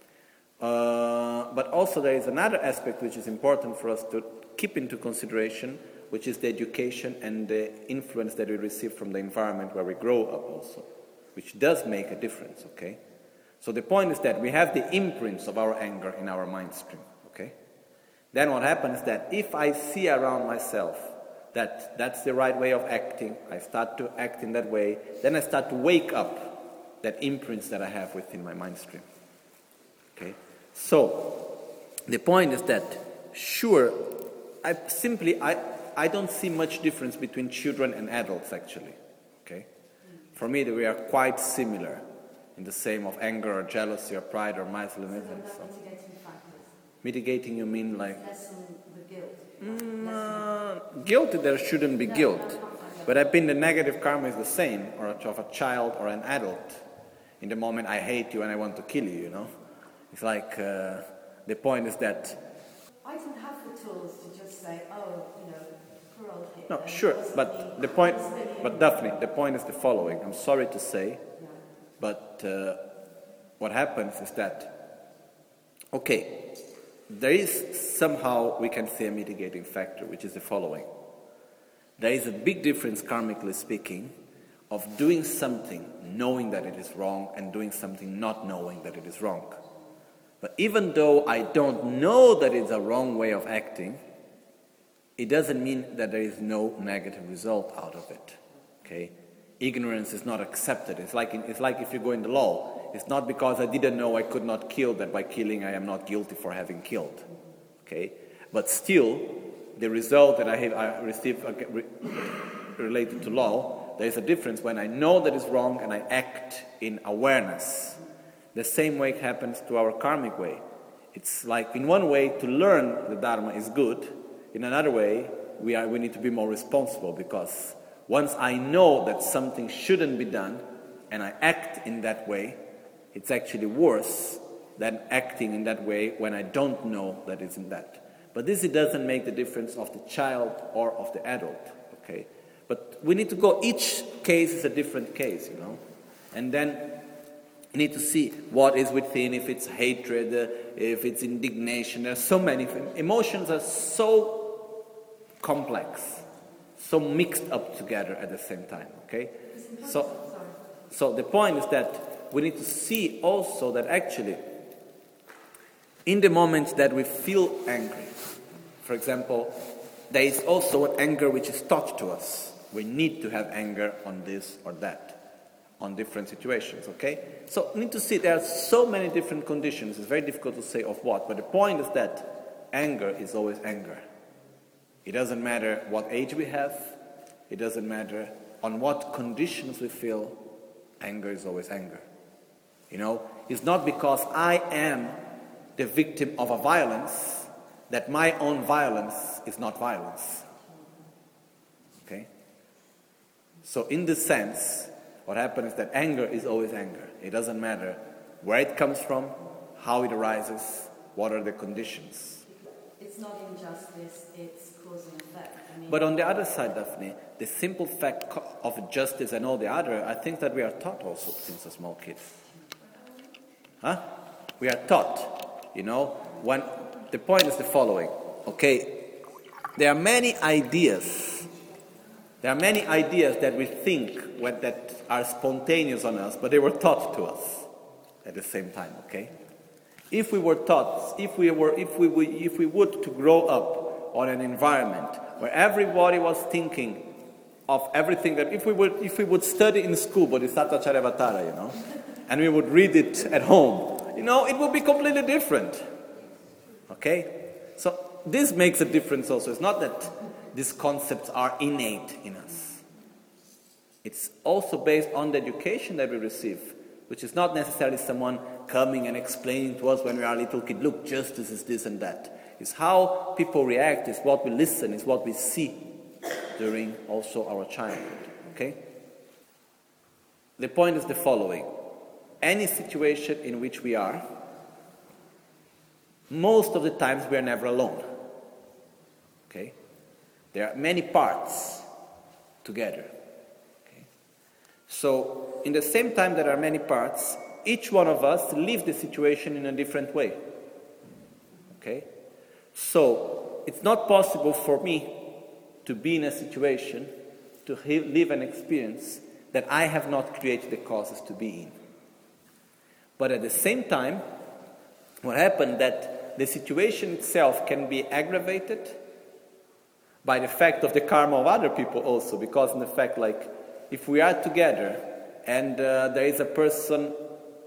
But also there is another aspect which is important for us to keep into consideration, which is the education and the influence that we receive from the environment where we grow up also, which does make a difference, okay? So the point is that we have the imprints of our anger in our mind stream, okay? Then what happens is that if I see around myself that that's the right way of acting, I start to act in that way, then I start to wake up that imprints that I have within my mind stream, okay? So the point is that, sure, I don't see much difference between children and adults actually, okay? For me, we are quite similar in the same of anger or jealousy or pride or miserliness. So mitigating factors. Mitigating, you mean like... Lessen the guilt. Guilt, there shouldn't be guilt. But I think the negative karma is the same, or of a child or an adult. In the moment I hate you and I want to kill you, you know? It's like, the point is that... I didn't have the tools to just say, oh, you know, poor old Hitler. No, sure, but the point, but definitely, the point is the following. I'm sorry to say, but what happens is that, okay, there is somehow, we can say, a mitigating factor, which is the following. There is a big difference, karmically speaking, of doing something knowing that it is wrong and doing something not knowing that it is wrong. But even though I don't know that it's a wrong way of acting, it doesn't mean that there is no negative result out of it. Okay? Ignorance is not accepted. It's like if you go in the law, it's not because I didn't know I could not kill that by killing I am not guilty for having killed. Okay? But still, the result that I received related to law, there is a difference when I know that is wrong and I act in awareness. The same way it happens to our karmic way. It's like in one way to learn the Dharma is good, in another way we need to be more responsible, because once I know that something shouldn't be done and I act in that way, it's actually worse than acting in that way when I don't know that it's in that. But this, it doesn't make the difference of the child or of the adult, okay? But we need to go, each case is a different case, and then you need to see what is within, if it's hatred, if it's indignation. There are so many emotions are so complex, so mixed up together at the same time, okay? So the point is that we need to see also that actually in the moment that we feel angry, for example, there is also an anger which is taught to us. We need to have anger on this or that, on different situations, okay? So we need to see there are so many different conditions. It's very difficult to say of what, but the point is that anger is always anger. It doesn't matter what age we have. It doesn't matter on what conditions we feel. Anger is always anger. It's not because I am the victim of a violence that my own violence is not violence. Okay? So in this sense, what happens is that anger is always anger. It doesn't matter where it comes from, how it arises, what are the conditions. It's not injustice, it's cause and effect. But on the other side, Daphne, the simple fact of justice and all the other, I think that we are taught also since a small kid. We are taught, when the point is the following, okay? There are many ideas that we think that are spontaneous on us, but they were taught to us at the same time, okay? If we were taught, if we would to grow up on an environment where everybody was thinking of everything, that if we would study in school Bodhisattva Charyavatara, and we would read it at home, it would be completely different. Okay? So this makes a difference also. It's not that these concepts are innate in us. It's also based on the education that we receive, which is not necessarily someone coming and explaining to us when we are a little kid, look, justice is this and that. It's how people react, it's what we listen, it's what we see during also our childhood. Okay? The point is the following. Any situation in which we are, most of the times we are never alone. Okay? There are many parts together. Okay? So, in the same time there are many parts, each one of us lives the situation in a different way. Okay? So, it's not possible for me to be in a situation, to live an experience that I have not created the causes to be in. But at the same time, what happened that the situation itself can be aggravated by the fact of the karma of other people also, because in the fact, like, if we are together and there is a person,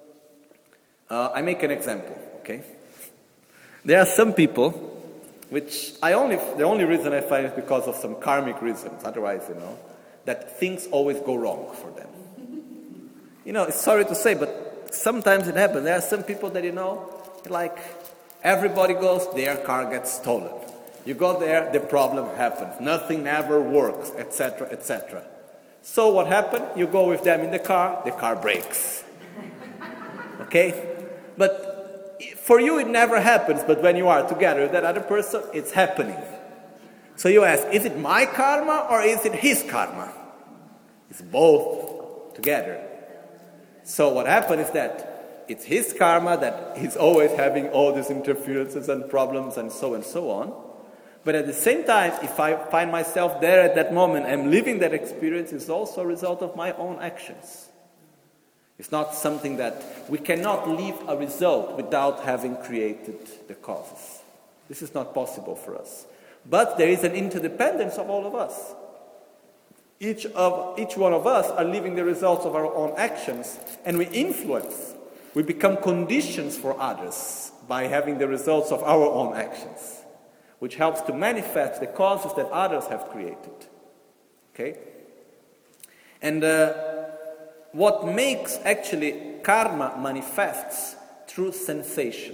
I make an example, okay? There are some people, which the only reason I find is because of some karmic reasons, otherwise, that things always go wrong for them. It's sorry to say, but sometimes it happens. There are some people that, like, everybody goes, their car gets stolen. You go there, the problem happens. Nothing ever works, etc., etc. So what happened? You go with them in the car breaks. Okay? But for you it never happens, but when you are together with that other person, it's happening. So you ask, is it my karma or is it his karma? It's both together. So what happened is that it's his karma that he's always having all these interferences and problems and so on. But at the same time, if I find myself there at that moment and living that experience, it's also a result of my own actions. It's not something that we cannot leave a result without having created the causes. This is not possible for us. But there is an interdependence of all of us. Each one of us are living the results of our own actions, and we influence We become conditions for others by having the results of our own actions, which helps to manifest the causes that others have created. Okay? And what makes actually karma manifests through sensation.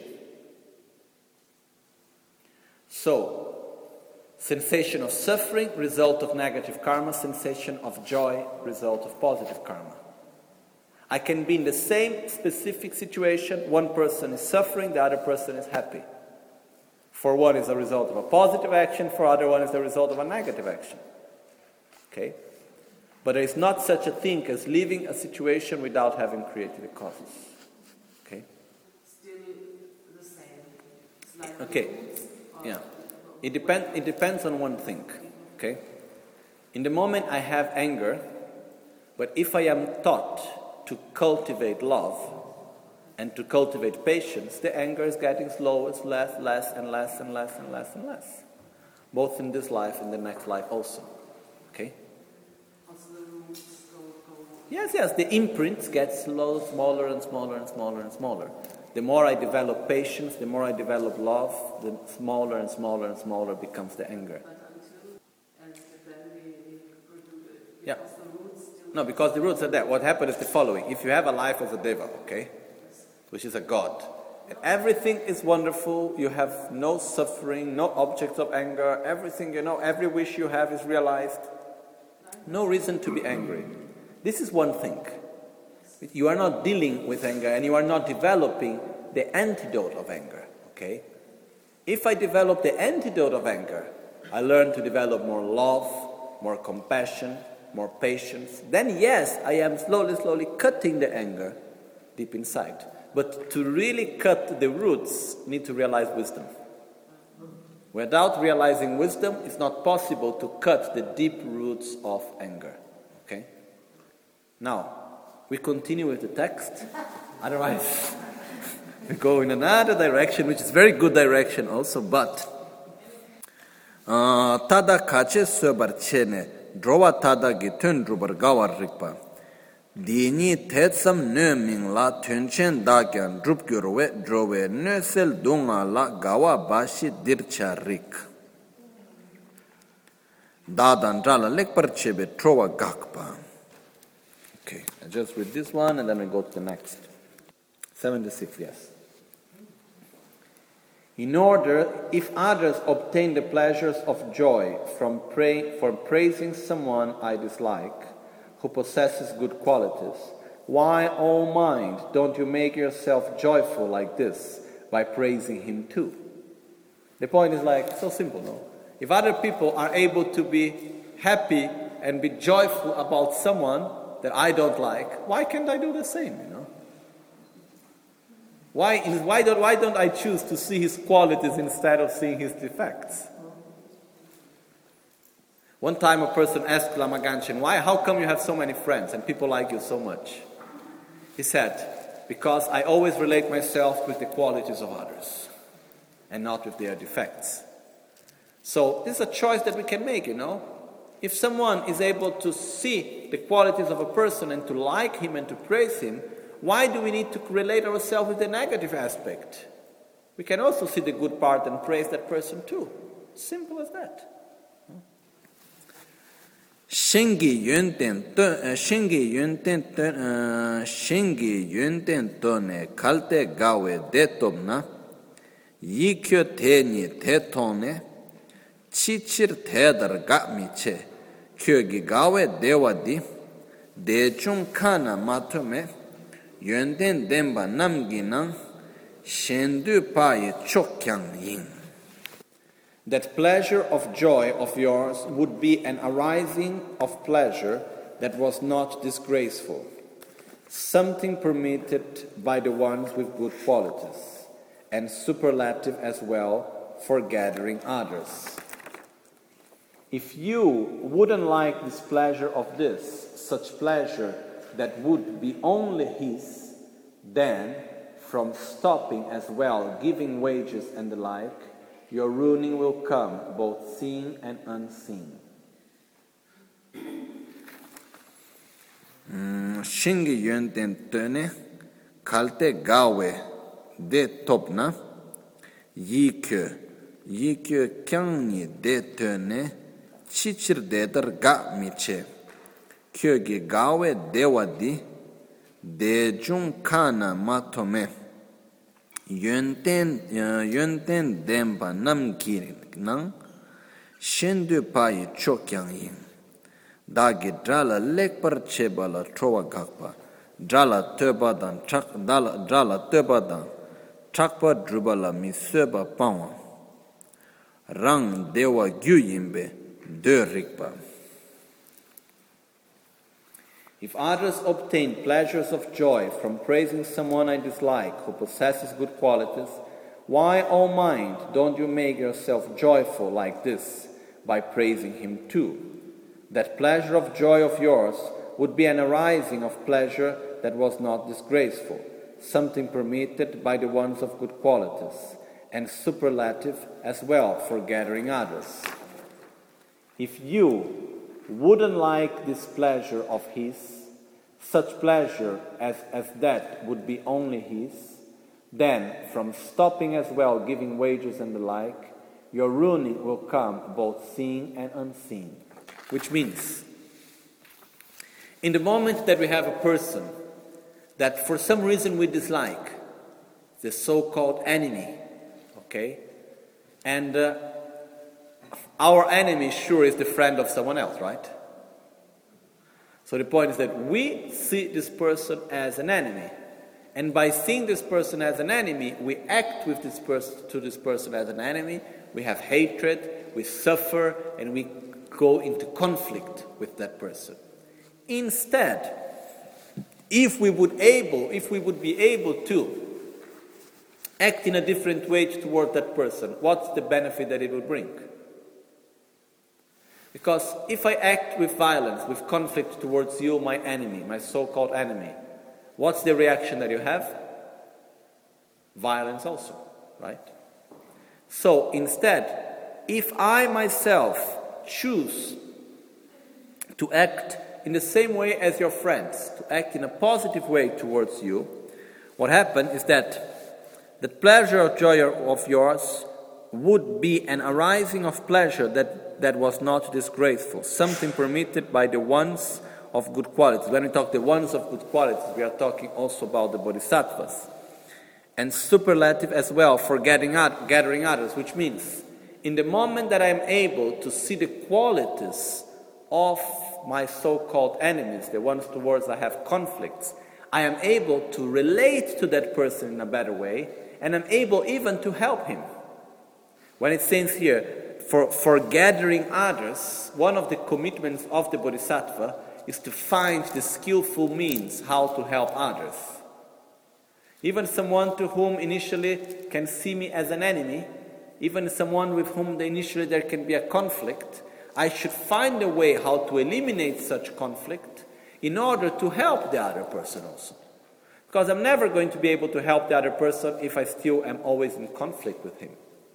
So, sensation of suffering, result of negative karma. Sensation of joy, result of positive karma. I can be in the same specific situation. One person is suffering, the other person is happy. For one is a result of a positive action, for other one is the result of a negative action. Okay? But there is not such a thing as living a situation without having created the causes. Okay? Still the same. It's like Okay. Yeah. It depends on one thing. Okay? In the moment I have anger, but if I am taught to cultivate love and to cultivate patience, the anger is getting slower, it's less and less and less and less and less. Both in this life and the next life also. Okay? Yes, the imprints get smaller and smaller and smaller and smaller. The more I develop patience, the more I develop love, the smaller and smaller and smaller becomes the anger. Yeah. No, because the roots are there. What happened is the following. If you have a life as a deva, okay, which is a god, and everything is wonderful, you have no suffering, no objects of anger, everything, every wish you have is realized, no reason to be angry. This is one thing. You are not dealing with anger and you are not developing the antidote of anger, okay? If I develop the antidote of anger, I learn to develop more love, more compassion, more patience. Then yes, I am slowly cutting the anger deep inside. But to really cut the roots, need to realize wisdom. Without realizing wisdom, it's not possible to cut the deep roots of anger, okay? Now, we continue with the text, otherwise we go in another direction, which is very good direction also, but tada kache sobar chene drowa tada gi tön drubar gawar rikpa dini tetsam nö mingla tönchen dakyan drup gyorwe drowe nösel dunga la gawa bashi dircha rik dadan drala lekpar chebe trowa gakpa. Okay, I just read this one and then we go to the next. 76, yes. In order, if others obtain the pleasures of joy from praising someone I dislike, who possesses good qualities, why, O mind, don't you make yourself joyful like this by praising him too? The point is so simple, no? If other people are able to be happy and be joyful about someone that I don't like, why can't I do the same, Why don't I choose to see his qualities instead of seeing his defects? One time a person asked Lama Ganchen, how come you have so many friends and people like you so much? He said, because I always relate myself with the qualities of others and not with their defects. So this is a choice that we can make, If someone is able to see the qualities of a person and to like him and to praise him, why do we need to relate ourselves with the negative aspect? We can also see the good part and praise that person too. Simple as that. Shingi yunten tone kalte gawe detobna yikyo teni tetone chichir tedar gamiche kyogi gawe dewadi dechung kana matome yönden demba namginan shendu paye chokyang yin. That pleasure of joy of yours would be an arising of pleasure that was not disgraceful, something permitted by the ones with good qualities, and superlative as well for gathering others. If you wouldn't like this pleasure of this, such pleasure that would be only his, then from stopping as well giving wages and the like, your ruining will come, both seen and unseen. Shingi yönden töne kalte gawe de topna yikyo kyangni de tene chichir dedar ga miche kyo gi gawe dewadi de jung kana matome yönten demba namki nang shendu pai chokyang yin dagi drala lekpar chebala trowa gakpa drala tebadan chakpa drubala miseba pawa rang dewa gyu yimbe de rikpa. If others obtain pleasures of joy from praising someone I dislike who possesses good qualities, why, O mind, don't you make yourself joyful like this by praising him too? That pleasure of joy of yours would be an arising of pleasure that was not disgraceful, something permitted by the ones of good qualities, and superlative as well for gathering others. If you wouldn't like this pleasure of his, such pleasure as that would be only his, then from stopping as well giving wages and the like, your ruining will come both seen and unseen. Which means, in the moment that we have a person that for some reason we dislike, the so-called enemy, okay, and our enemy sure is the friend of someone else, right? So the point is that we see this person as an enemy. And by seeing this person as an enemy, we act with this person as an enemy. We have hatred, we suffer, and we go into conflict with that person. Instead, if we would be able to act in a different way toward that person, what's the benefit that it will bring? Because if I act with violence, with conflict towards you, my enemy, my so-called enemy, what's the reaction that you have? Violence also, right? So instead, if I myself choose to act in the same way as your friends, to act in a positive way towards you, what happens is that the pleasure or joy of yours would be an arising of pleasure that was not disgraceful, something permitted by the ones of good qualities. When we talk the ones of good qualities, we are talking also about the bodhisattvas. And superlative as well for gathering others, which means in the moment that I am able to see the qualities of my so-called enemies, the ones towards I have conflicts, I am able to relate to that person in a better way, and I'm able even to help him. When it says here, for gathering others, one of the commitments of the bodhisattva is to find the skillful means how to help others. Even someone to whom initially can see me as an enemy, even someone with whom initially there can be a conflict, I should find a way how to eliminate such conflict in order to help the other person also. Because I'm never going to be able to help the other person if I still am always in conflict with him.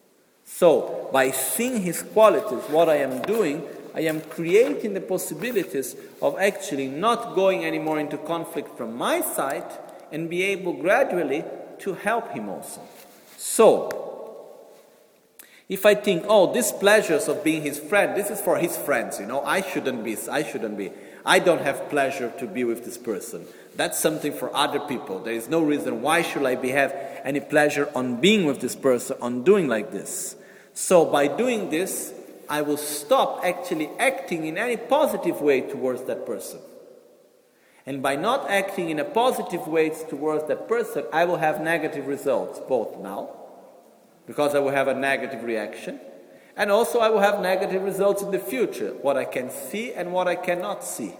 So, by seeing his qualities, what I am doing, I am creating the possibilities of actually not going anymore into conflict from my side and be able gradually to help him also. So, if I think, oh, these pleasures of being his friend, this is for his friends, I shouldn't be. I don't have pleasure to be with this person. That's something for other people. There is no reason why should I have any pleasure on being with this person, on doing like this. So by doing this, I will stop actually acting in any positive way towards that person. And by not acting in a positive way towards that person, I will have negative results, both now, because I will have a negative reaction, and also I will have negative results in the future, what I can see and what I cannot see.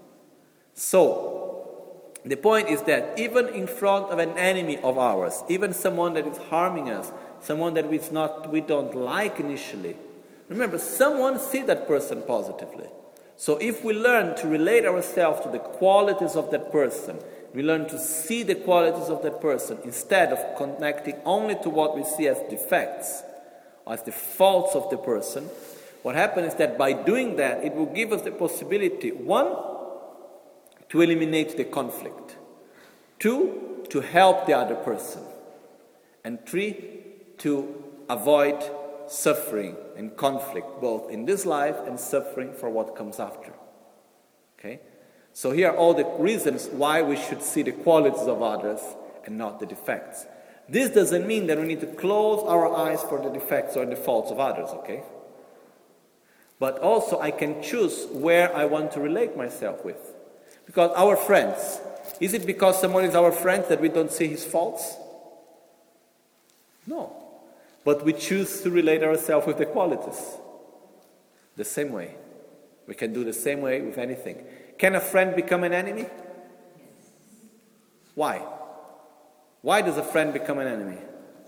So, the point is that even in front of an enemy of ours, even someone that is harming us, someone that we don't like initially, remember, someone sees that person positively. So if we learn to relate ourselves to the qualities of that person, we learn to see the qualities of that person instead of connecting only to what we see as defects, or as the faults of the person, what happens is that by doing that, it will give us the possibility, one, to eliminate the conflict, two, to help the other person. And 3, to avoid suffering and conflict, both in this life and suffering for what comes after. Okay? So here are all the reasons why we should see the qualities of others and not the defects. This doesn't mean that we need to close our eyes for the defects or the faults of others, okay? But also I can choose where I want to relate myself with. Because our friends, is it because someone is our friend that we don't see his faults? No. But we choose to relate ourselves with the qualities. The same way. We can do the same way with anything. Can a friend become an enemy? Why? Why does a friend become an enemy?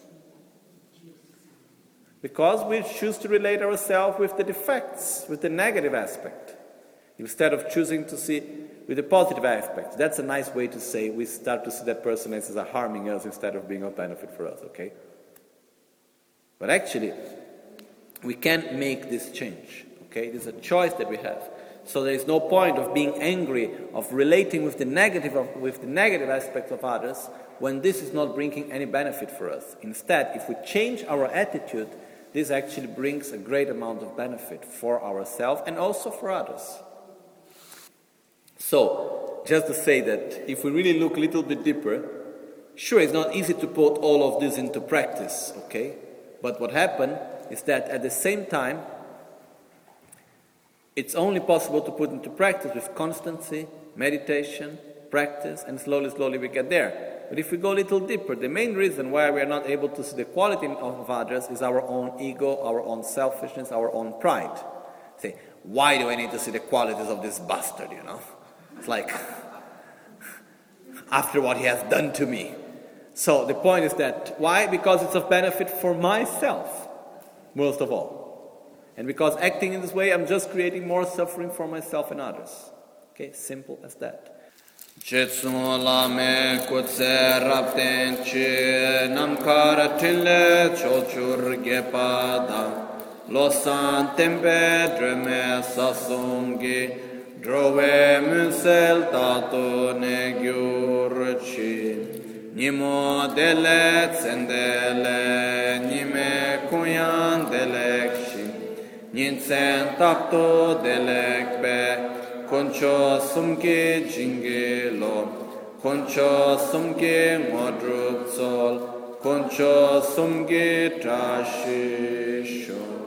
Because we choose to relate ourselves with the defects, with the negative aspect, instead of choosing to see with the positive aspect. That's a nice way to say we start to see that person as harming us instead of being of benefit for us, okay? But actually, we can't make this change, okay? It is a choice that we have. So there is no point of being angry, of relating with the negative aspects of others, when this is not bringing any benefit for us. Instead, if we change our attitude, this actually brings a great amount of benefit for ourselves and also for others. So, just to say that if we really look a little bit deeper, sure, it's not easy to put all of this into practice, okay? But what happened is that at the same time, it's only possible to put into practice with constancy, meditation, practice, and slowly we get there. But if we go a little deeper, the main reason why we are not able to see the quality of others is our own ego, our own selfishness, our own pride. Say, why do I need to see the qualities of this bastard, you know? It's like, after what he has done to me. So the point is that, why? Because it's of benefit for myself, most of all. And because acting in this way, I'm just creating more suffering for myself and others. Okay, simple as that. Jetsun lame kutse rapten chi namkar tille chochur gepada losan tempe dreme sasumgi drove munsel tato ne gyurchi nimo dele tsendele nime kuyan delekshi ninsen takto delekbe Concho sumke jingelo, concho sumke modrup sol, concho sumke trashisho.